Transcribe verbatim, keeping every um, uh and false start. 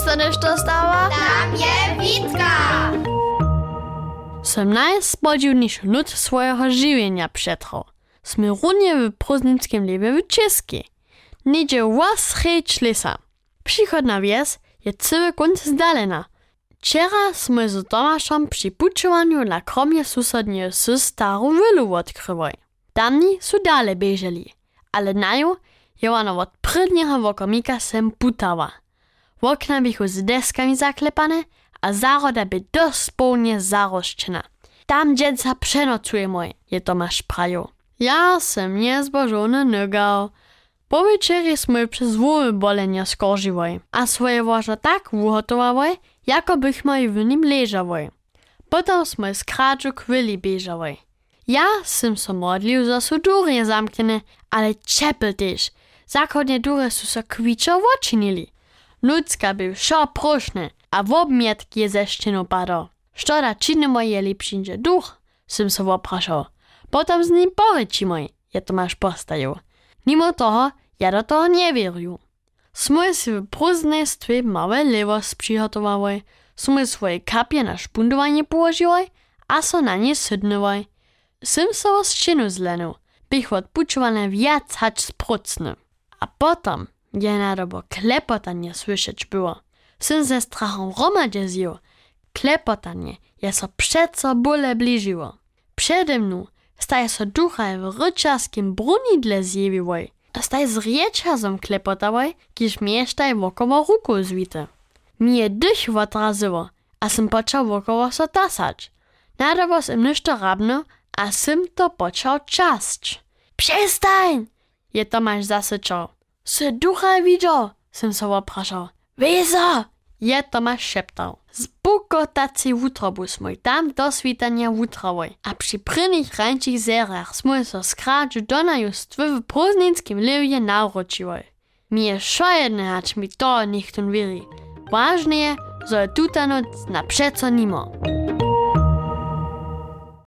se nešto stała? Tam je Witka! Som najspodziwniejszy nut swojego żywienia przetrwał. Sme runie w prózdnickim lebie w Českej. Niedzie was rejcz lesa. Przychodna wies je cały kunt zdalena. Wczera sme z Tomaszem przy puczowaniu na kromie susodnie sy starą wylu odkrywali. Tamni su dale bieżeli, ale na nią je ona od prydniego wokomika sem putała. Okna bychu z deskami zaklepane, a zaroda by dospełnie zaroszczena. Tam dziecka przenocuje mój, je Tomasz prajo. Ja sem niezbożony nogał. Po wieczerie sme przez wóły bolenia skoržiwali, a swoje łożo tak uhotowali, jako bychmy w nim leżali. Potem sme z kradżu kwili bieżali. Ja sem so modlił, że su durje zamknene, ale czepel też. Zachodnie dury su so kwiczo oczynili. Nucka był szo proszny, a w obmietk je ze ścienu padał. Što da činimo jeli przyjdzie duch? Sem se opraszał. Potem z nim porečimo, je Tomasz postajał. Mimo toho, ja do toho nie wieruję. Sme si w prózdnestwie małe lewos przygotowali, sme swoje kapie na szpundowanie położyli, a so na nie sydnęli. Sem se o ścienu zlenął, bych odpučowane wiac hać sprucny. A potem je nadobo klepotanie słyszeć było. Sem ze strachom romadzie zjął. Klepotanie je so przeco bóle bliżyło. Przede mną staje so ducha w ryczarskim brunidle zjewiłoj. A staj z riečazom klepotałoj, kiż miesztaj wokoło ruku zwite. Mi je dych odrazyło, a sem począł wokoło so tasać. Nadobo sem ništo rabno, a sem to począł czasć. Przestań! Je Tomasz zasyczał. Se ducha widział, sem so opraszał. Wezo! Je Tomasz szeptał. Z bukotacji wutrobu smoj tam do svitania wutrowoj, a przy prynnych rańczych zerach smoj so skradżu donaju stwy w prózdnickim lewie nauročiłoj. Mi je šo jedne, hać mi to nichtun wiri. Ważne je, że je tuta noc na przeco nimo.